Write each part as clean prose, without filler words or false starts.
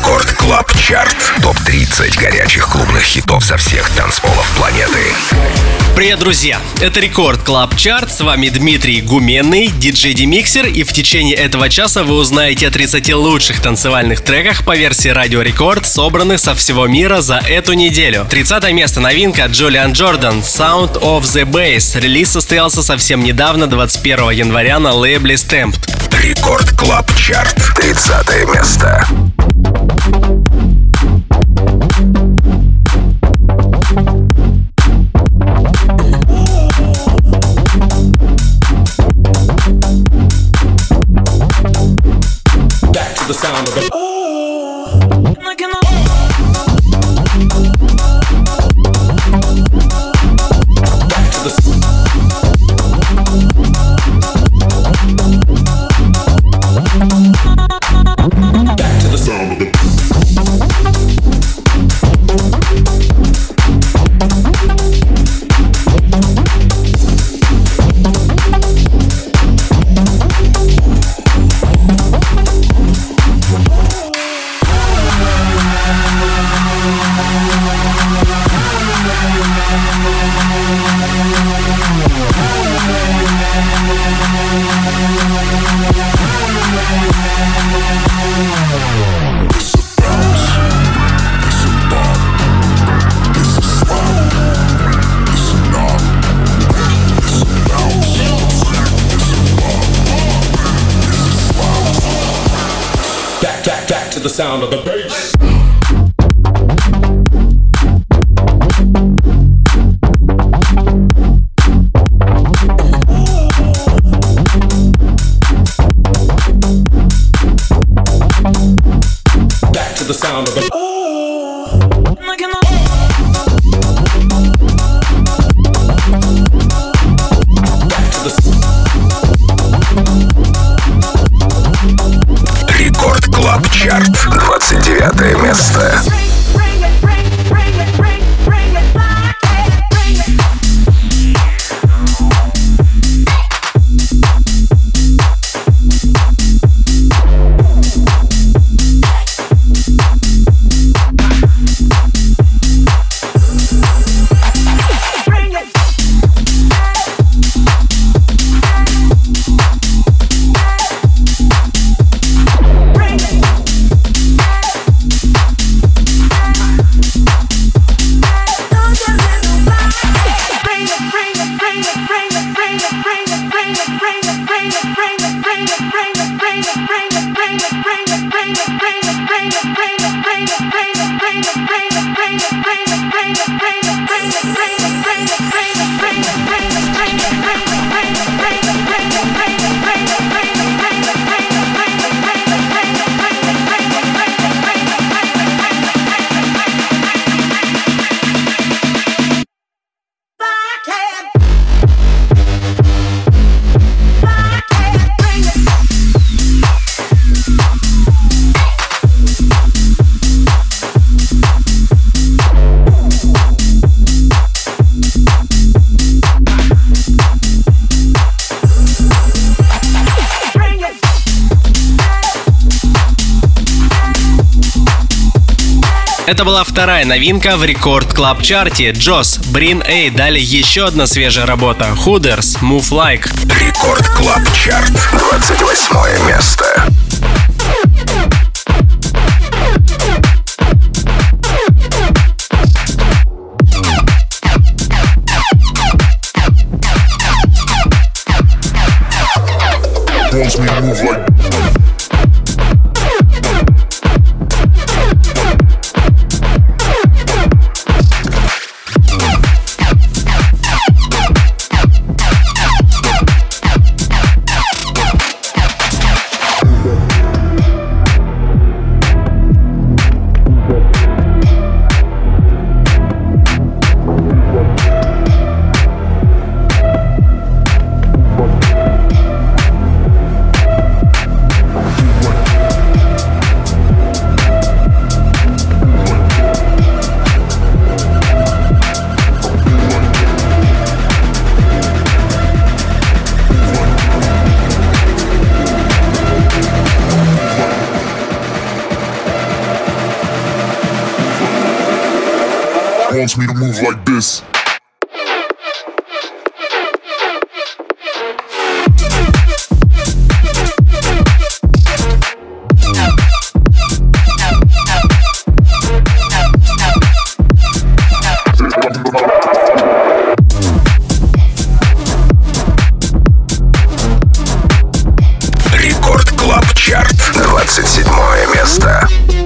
Рекорд Клаб Чарт. Топ-30 горячих клубных хитов со всех танцполов планеты. Привет, друзья! Это Рекорд Клаб Чарт. С вами Дмитрий Гуменный, диджей-демиксер. И в течение этого часа вы узнаете о 30 лучших танцевальных треках по версии Радио Рекорд, собранных со всего мира за эту неделю. 30 место новинка Джулиан Джордан «Sound of the Bass». Релиз состоялся совсем недавно, 21 января на лейбле Stamped. Рекорд Клаб Чарт. 30 место. The sound of the the sound of the bass. Back to the sound of the Рекорд Клаб Чарт. 29 место. Это была вторая новинка в Рекорд Клаб Чарте. Джос, Брин Эй, далее еще одна свежая работа. Hooders, Move Like. Рекорд Клаб Чарт. 28 место. Wants me to move like wants me to move like this. Рекорд Клаб Чарт, 27 место.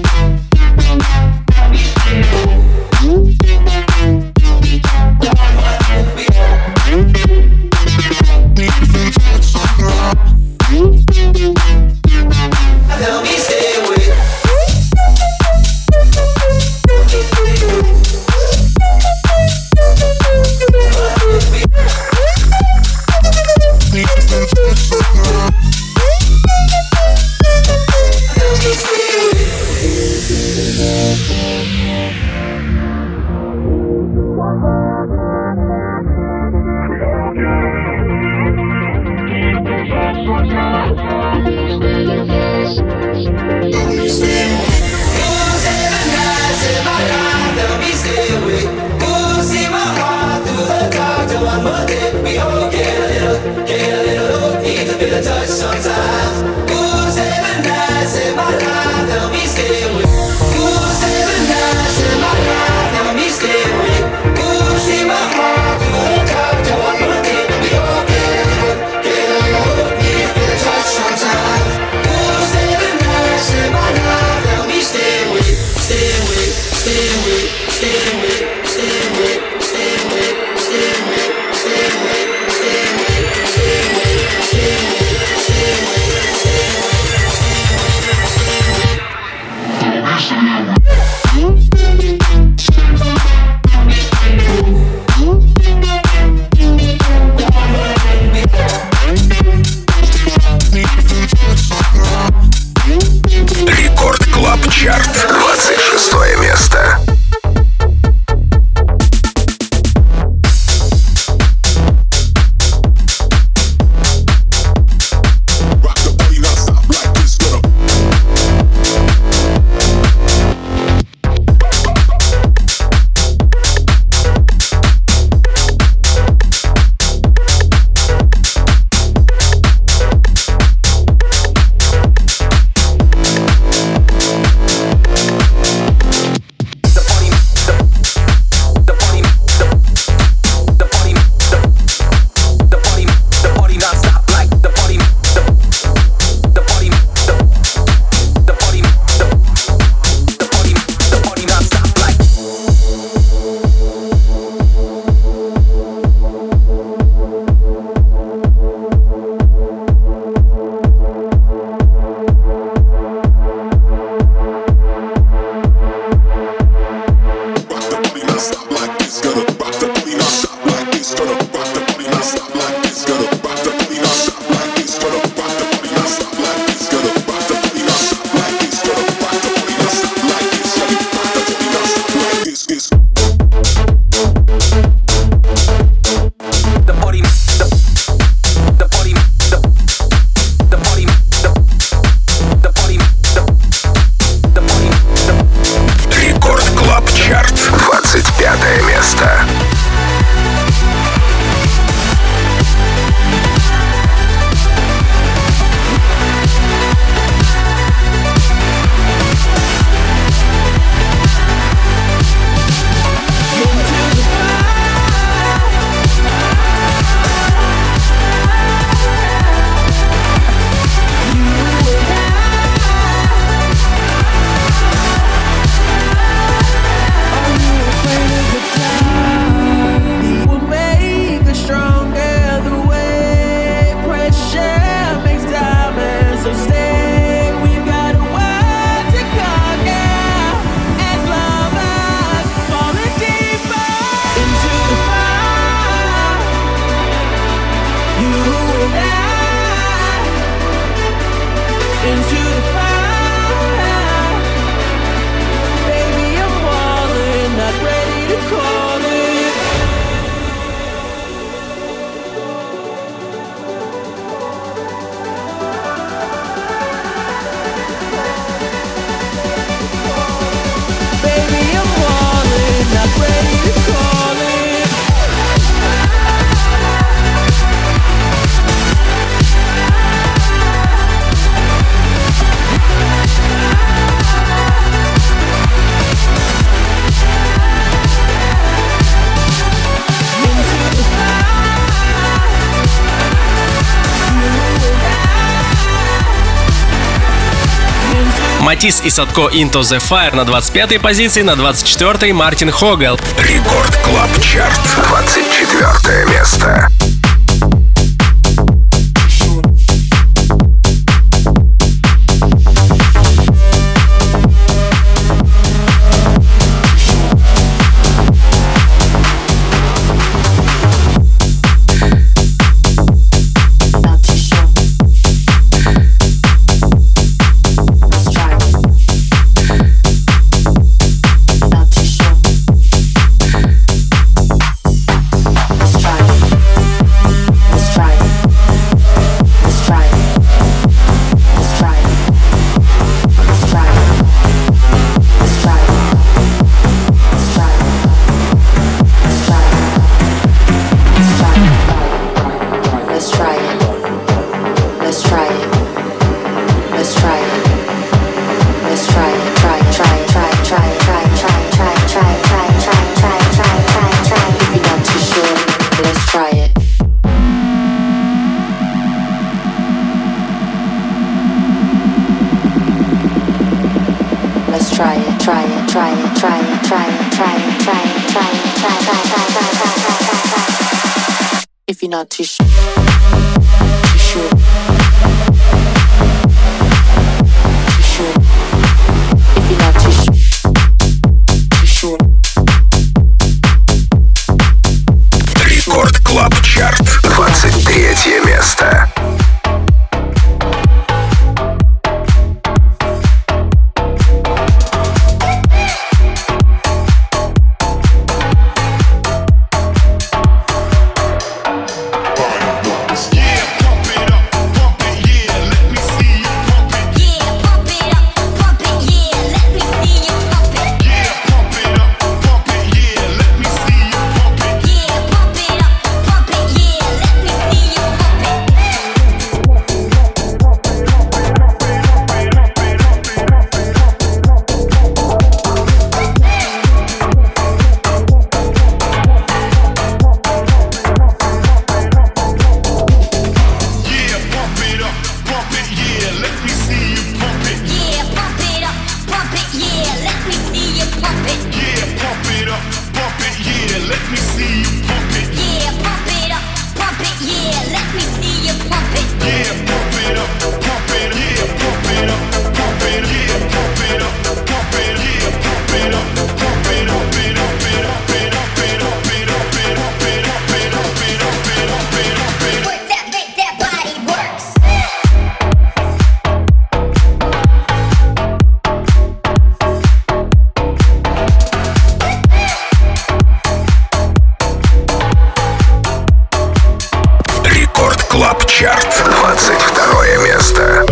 Рекорд Клаб Чарт, 26 место. Baby, I'm falling, not ready Матис и Садко Into the Fire на 25-й позиции, на 24-й Мартин Хогел. Рекорд Клаб Чарт, 24 место. If you're not too sure, if you're not too sure. Рекорд Клаб Чарт, 23 место. Клаб Чарт, 22 место.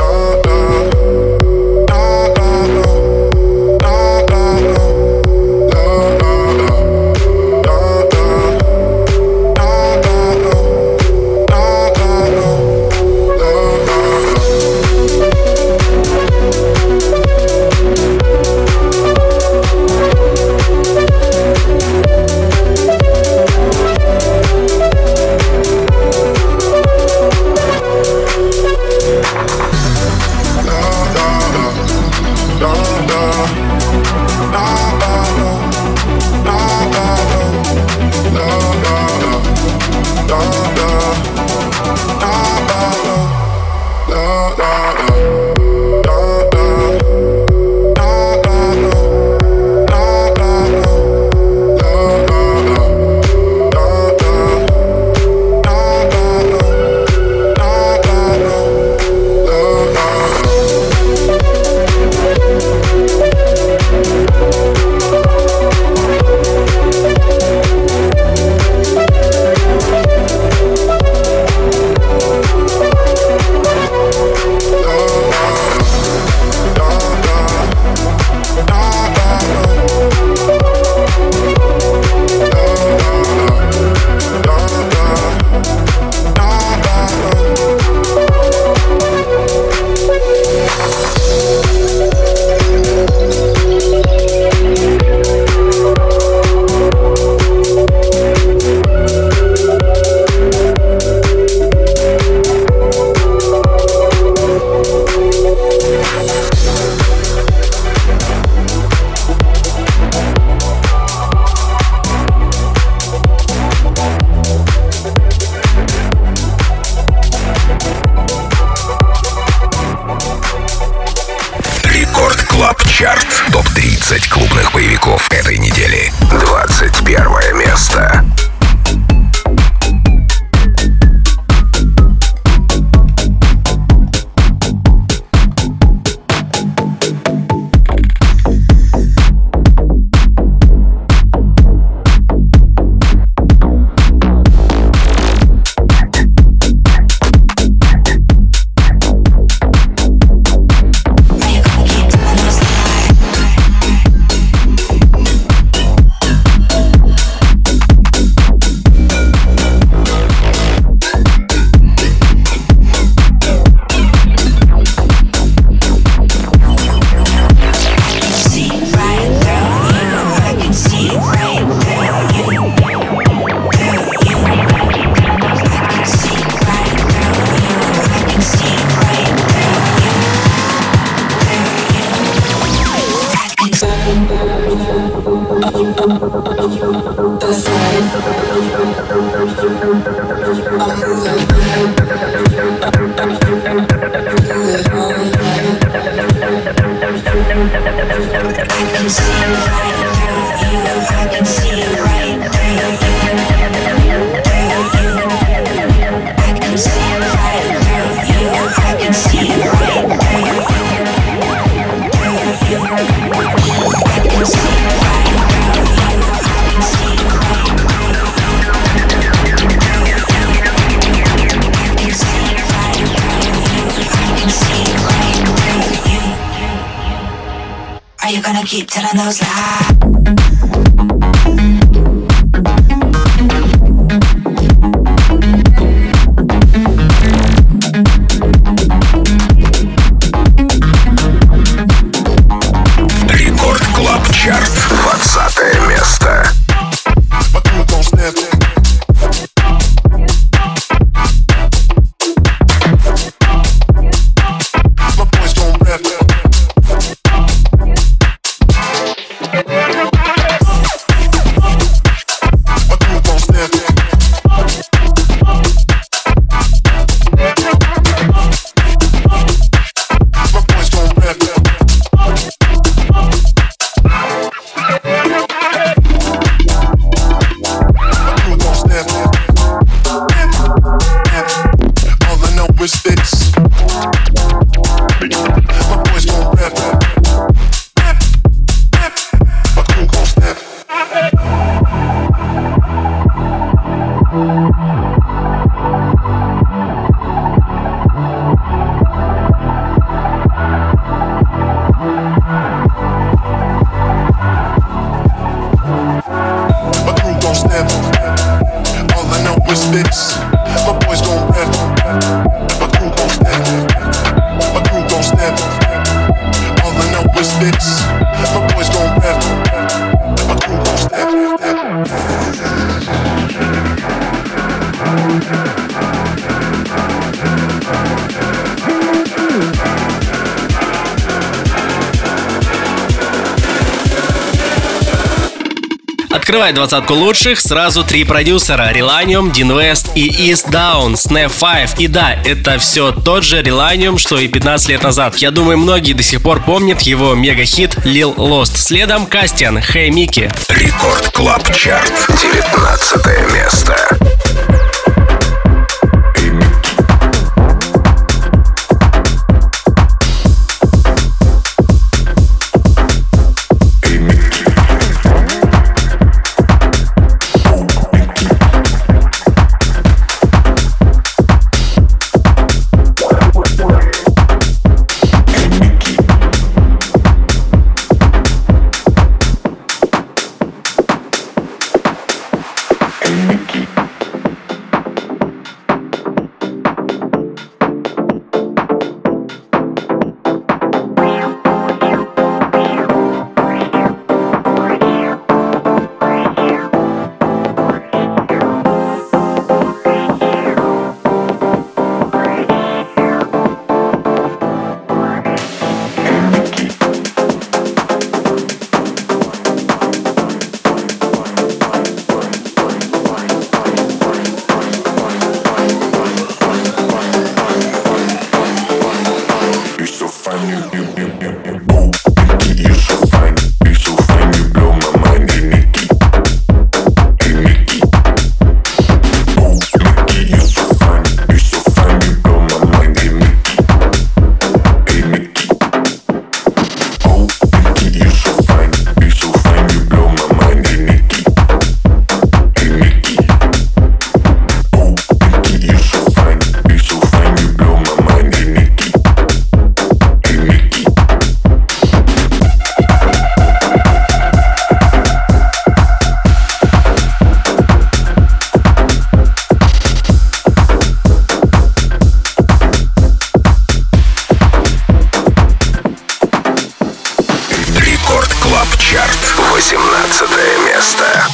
Топ-30 клубных боевиков этой недели. 21 место. Keep telling those lies. Рекорд Клаб Чарт. 20 место. Открывает двадцатку лучших сразу три продюсера: Relanium, Dean West и East Down, Snap 5. И да, это все тот же Relanium, что и 15 лет назад. Я думаю, многие до сих пор помнят его мега-хит Lil Lost. Следом Кастиан, Hey Mickey. Рекорд Клаб Чарт. 19 место. Клаб Чарт, 18 место.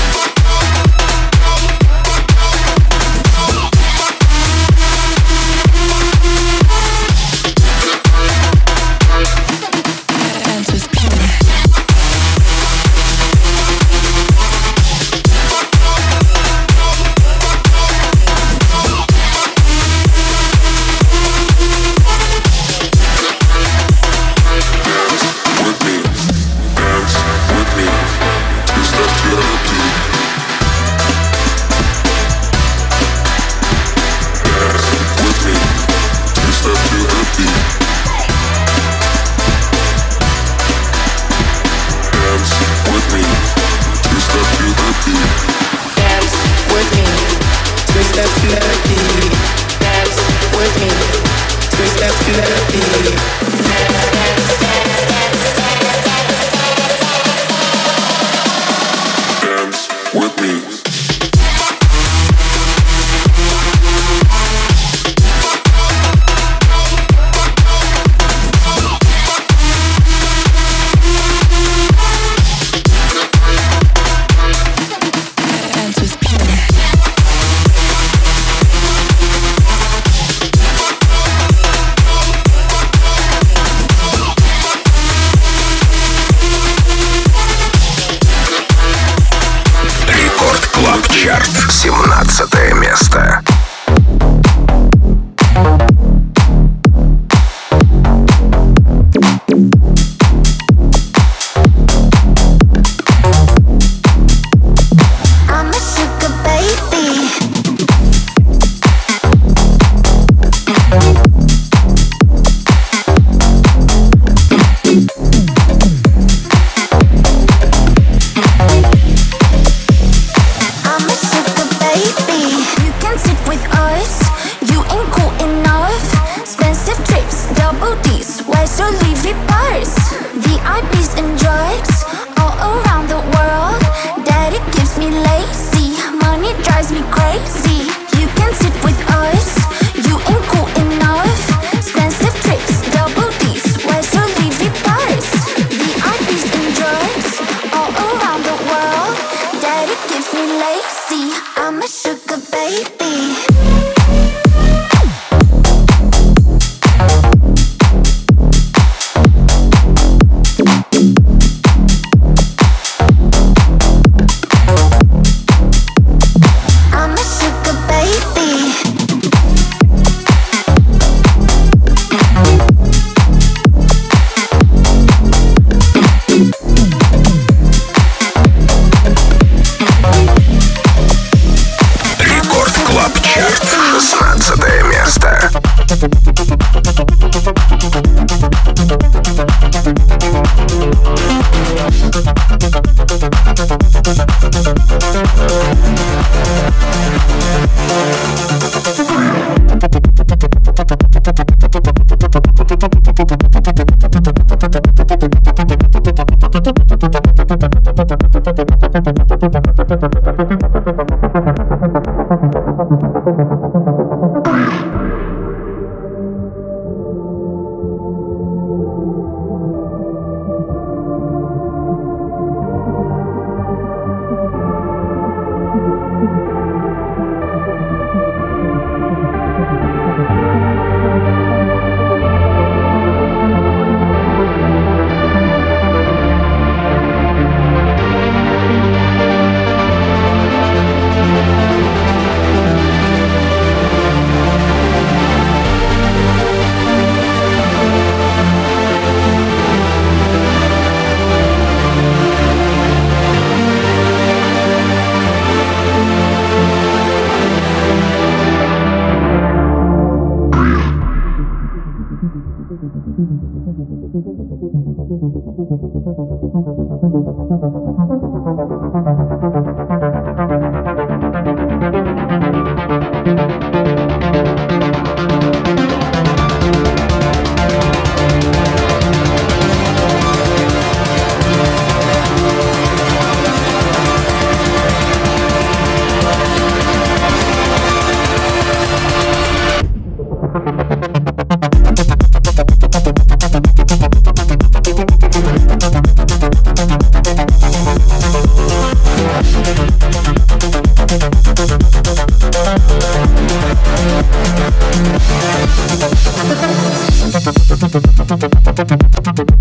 Чарт, 17 место.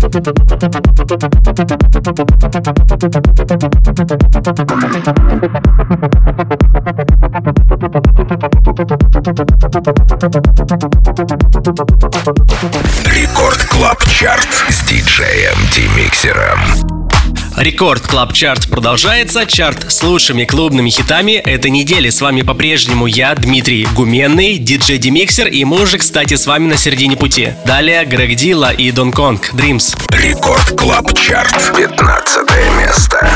Рекорд Клаб Чарт с диджеем Демиксером. Рекорд Клаб Чарт продолжается. Чарт с лучшими клубными хитами этой недели. С вами по-прежнему я, Дмитрий Гуменный, диджей Демиксер, и мы уже, кстати, с вами на середине пути. Далее Грег Дилла и Дон Конг, Dreams. Рекорд Клаб Чарт, 15 место.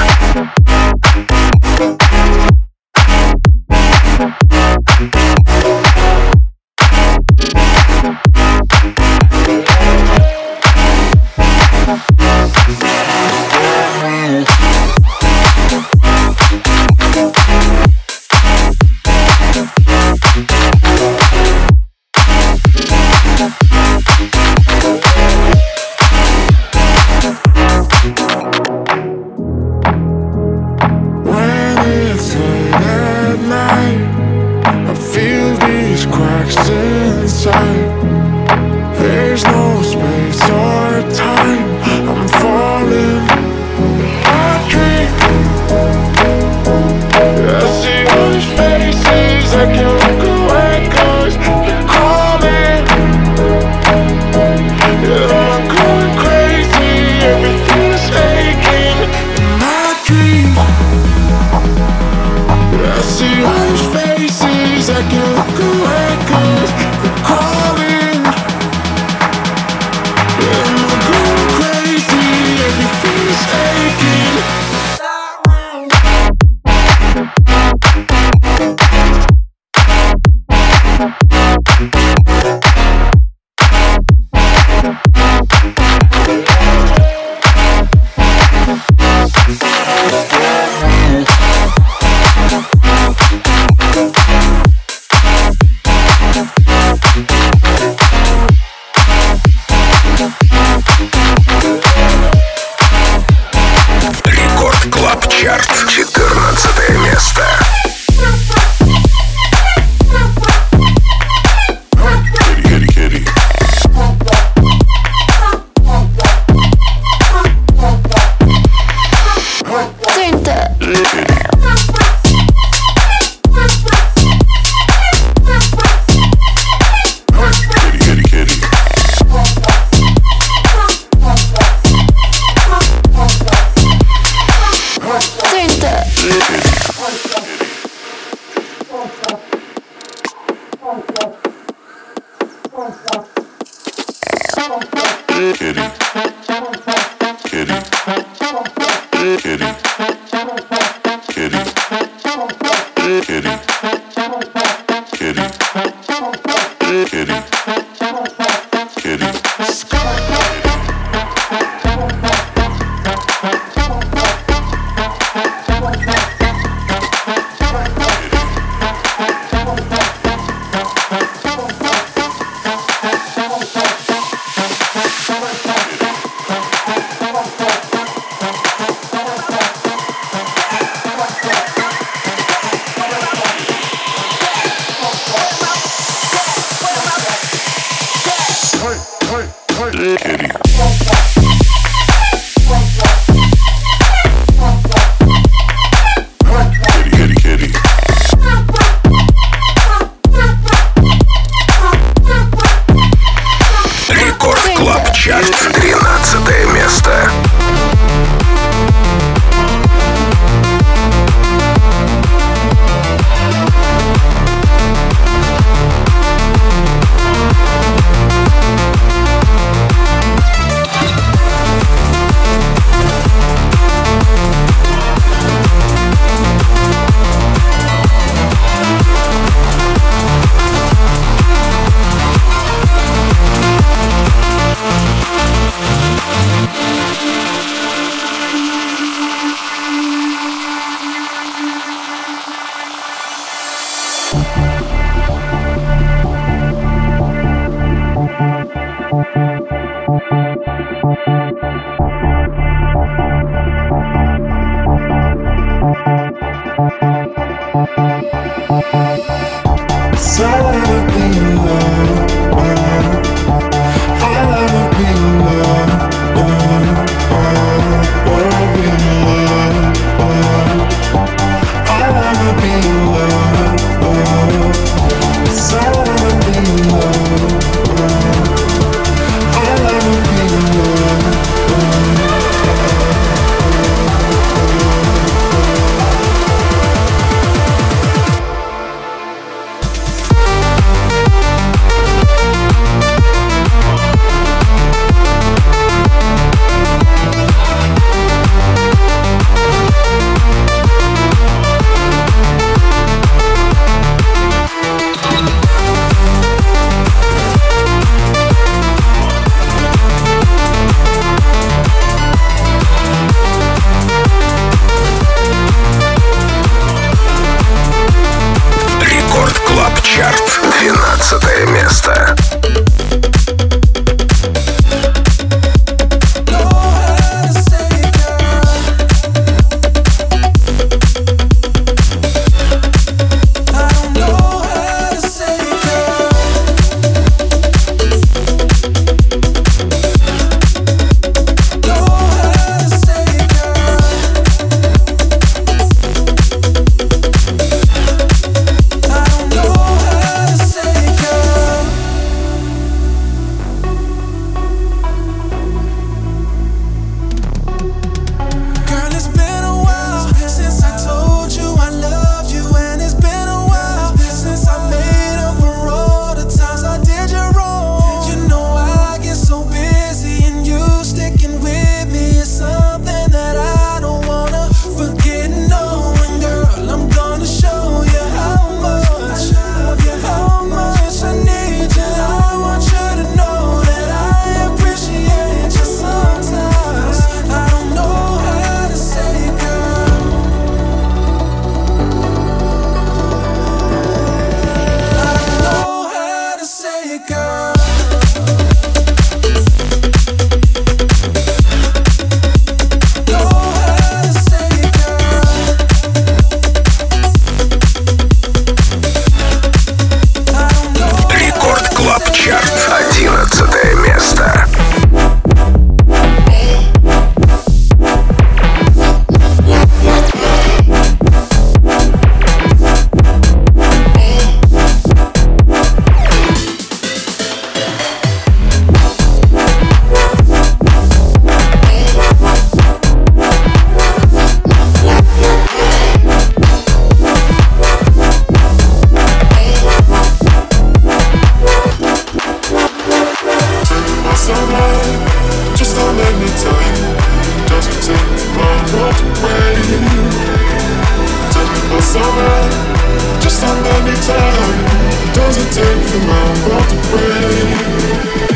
summer, just how many times does it take for my world to break?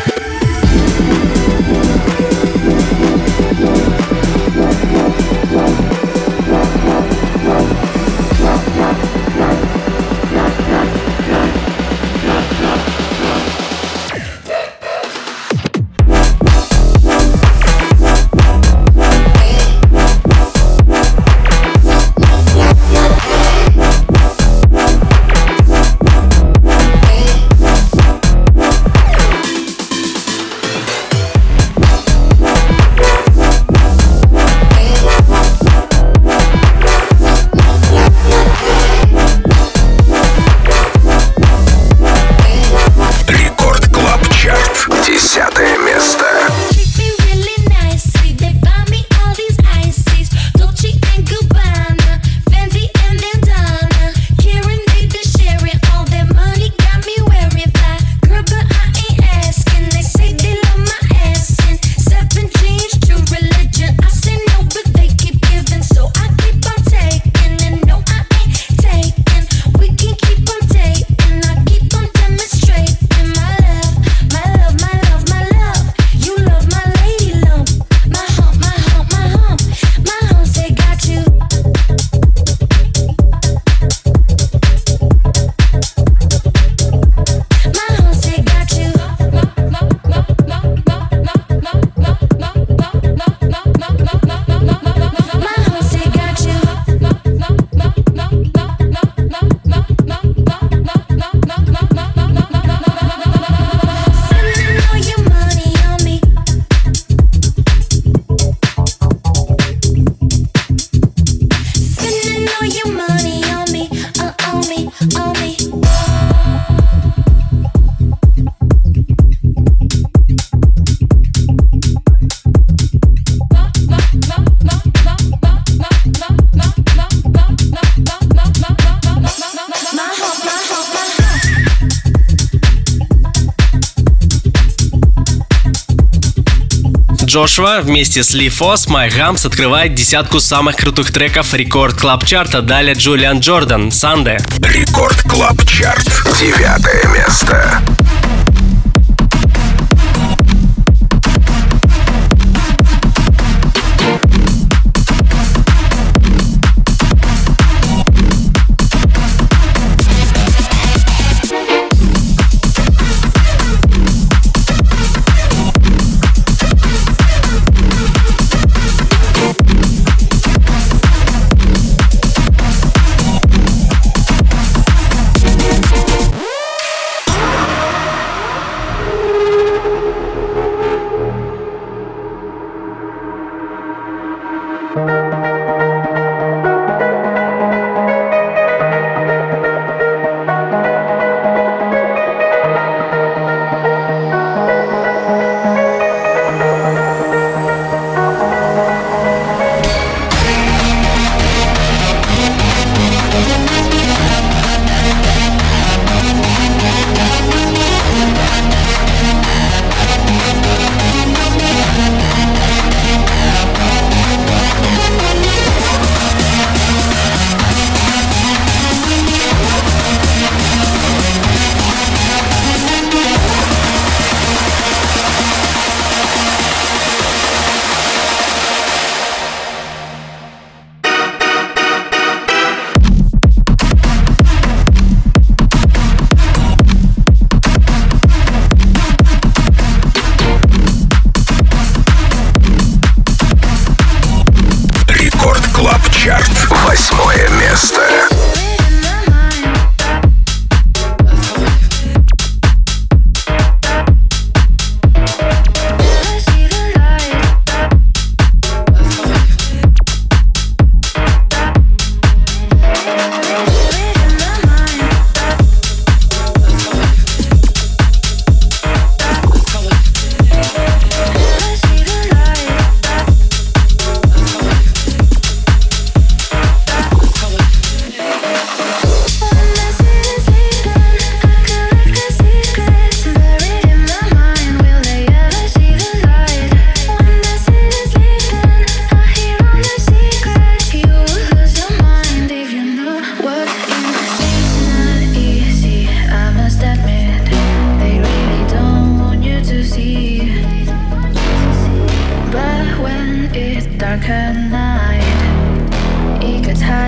Джошуа вместе с Ли Фос My Humps открывает десятку самых крутых треков Рекорд Клаб Чарта. Далее Джулиан Джордан Sunday. Рекорд Клаб Чарт. 9 место.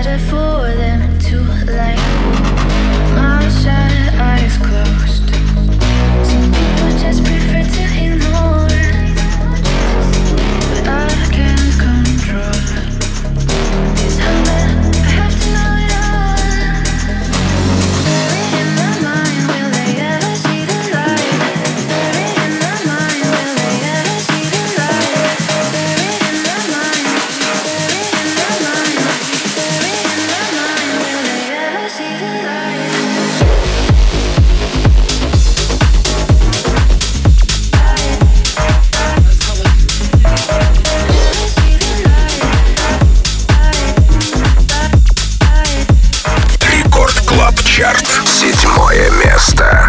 decided for them to like. Mouth shut, eyes closed. Some people just prefer to ignore it, but I can't control this hunger. I have to know it all. Buried in my mind, will they ever see the light? Buried in my mind, will they ever see the light? Buried in my mind, buried in my mind, buried in my mind, will they ever see the light? Рекорд Клаб Чарт. 7-е место.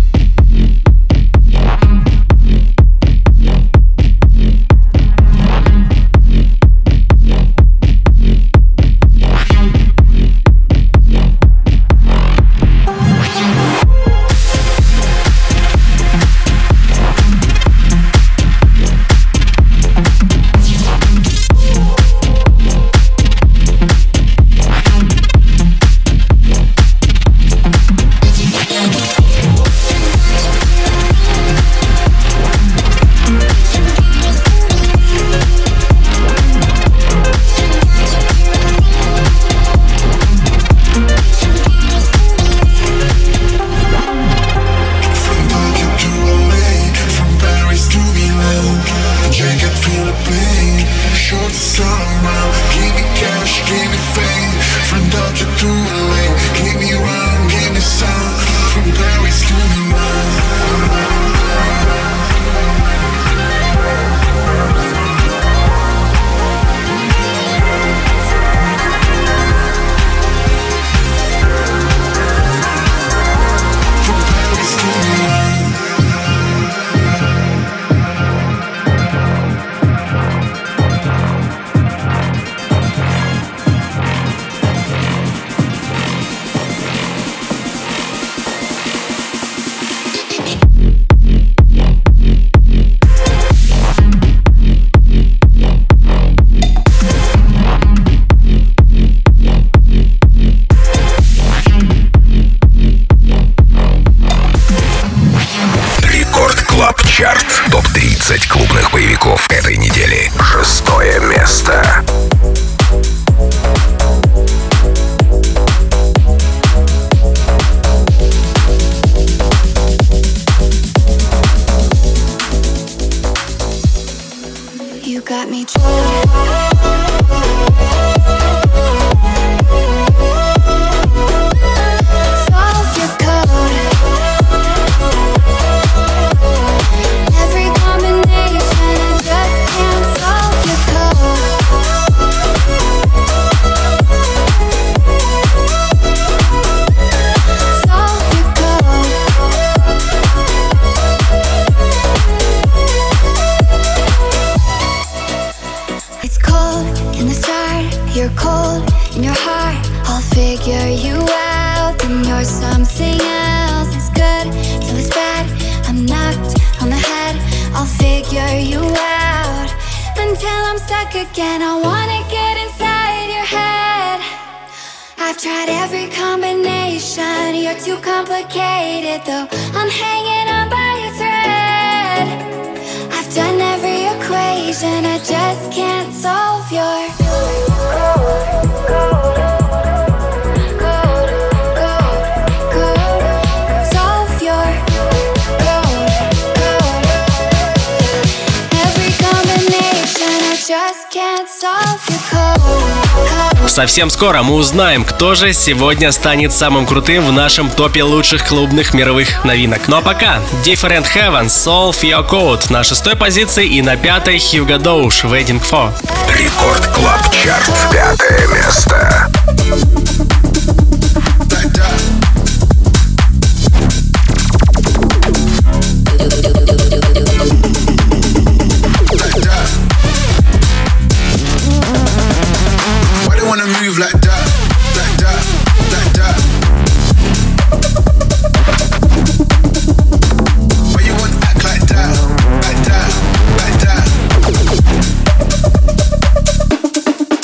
Топ-30 клубных боевиков этой недели. 6-е место. You got me solve your code. Every combination, I just can't solve your solve your code. It's cold in the start, you're cold in your heart. I'll figure you out, then you're something else. It's good till it's bad, I'm knocked on the head. I'll figure you out until I'm stuck again. I wanna get inside your head. I've tried every combination, you're too complicated though. I'm hanging on by a thread. I've done every equation, I just can't solve your solve your every combination, I just can't solve your code. Совсем скоро мы узнаем, кто же сегодня станет самым крутым в нашем топе лучших клубных мировых новинок. Ну а пока Different Heaven, Solve Your Code на 6-й позиции и на 5-й Hugo Doge, Waiting For. Рекорд Клаб Чарт. 5-е место. Why they wanna move like that, like that, like that? Why you wanna act like that, like that, like that?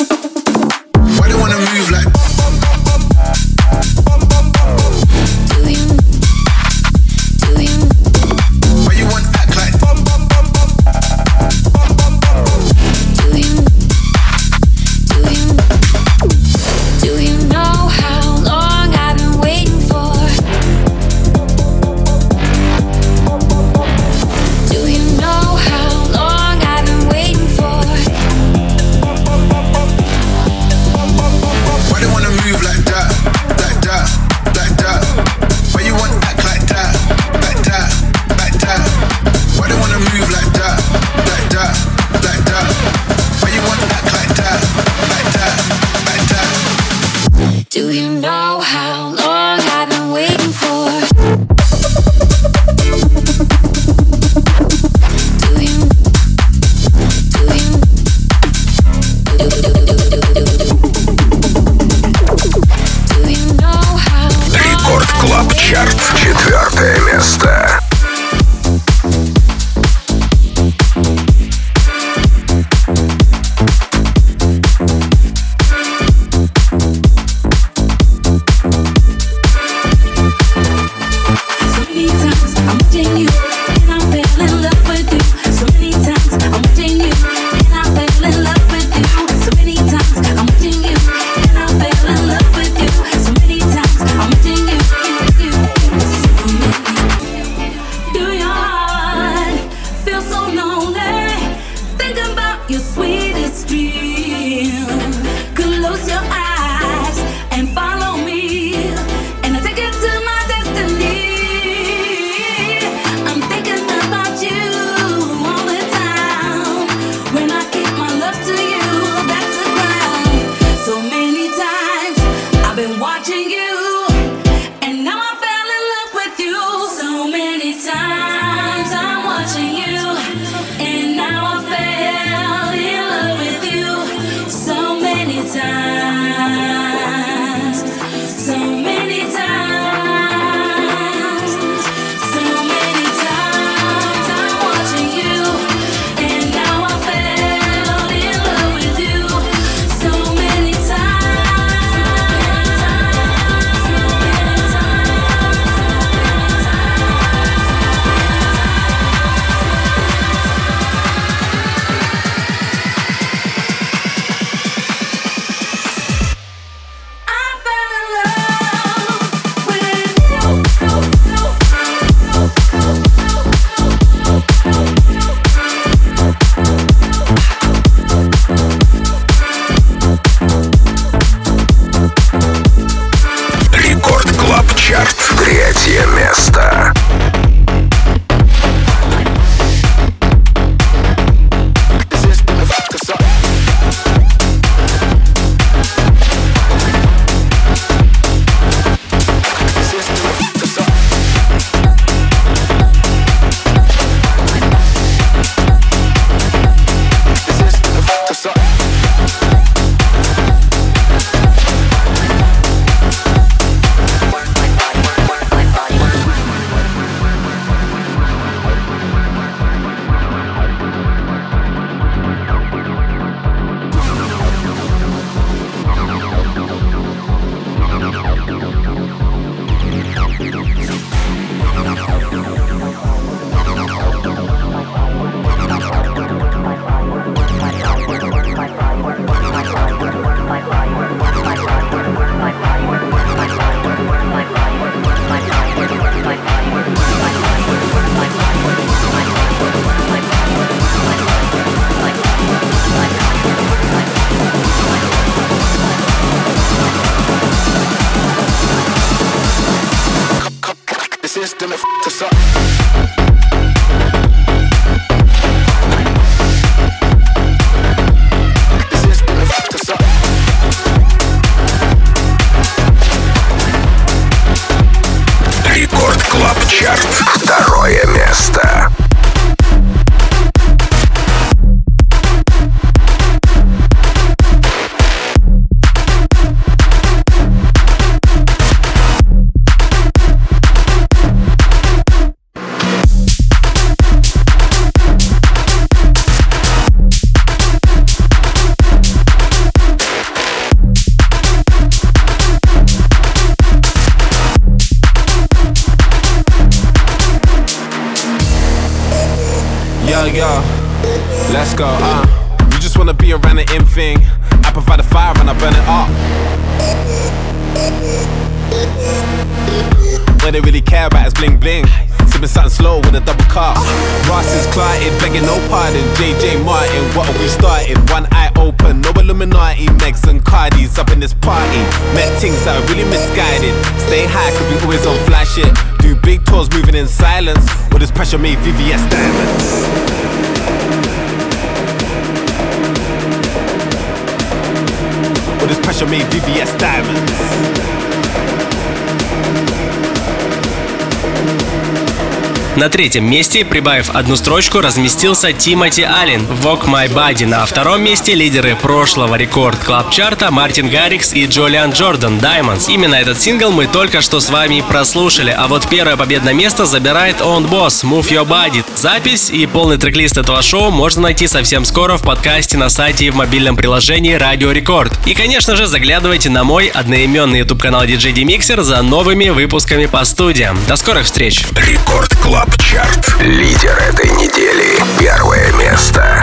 you know how long I've been waiting for? Рекорд Клаб Чарт, 4 место. Yo, let's go, you just wanna be around the in thing. I provide the fire and I burn it up. What they really care about is bling bling. Sipping something slow with a double cup. Ross is clotted, begging no pardon. JJ Martin, what have we started? One eye open, no Illuminati. Megs and Cardis up in this party. Met things that are really misguided. Stay high cause we always on fly shit. Do big tours moving in silence. With this pressure made VVS diamonds. With this pressure Russia made VVS diamonds. На третьем месте, прибавив одну строчку, разместился Тимоти Аллен «Walk My Body». На втором месте лидеры прошлого рекорд-клаб-чарта Мартин Гаррикс и Джулиан Джордан «Diamonds». Именно этот сингл мы только что с вами прослушали. А вот первое победное место забирает Own Boss «Move Your Body». Запись и полный трек-лист этого шоу можно найти совсем скоро в подкасте на сайте и в мобильном приложении Радио Рекорд. И, конечно же, заглядывайте на мой одноименный YouTube-канал DJ Demixer за новыми выпусками по студиям. До скорых встреч! Рекорд Клаб Чарт. Лидер этой недели. Первое место.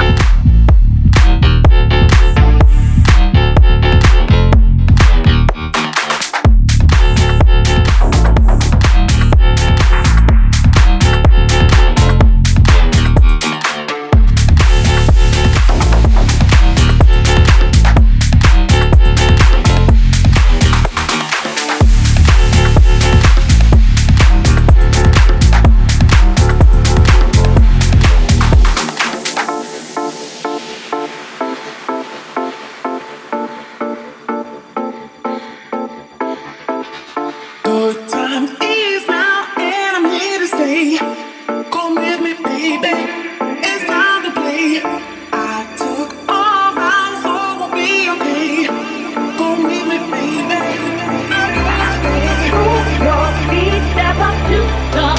Step up to the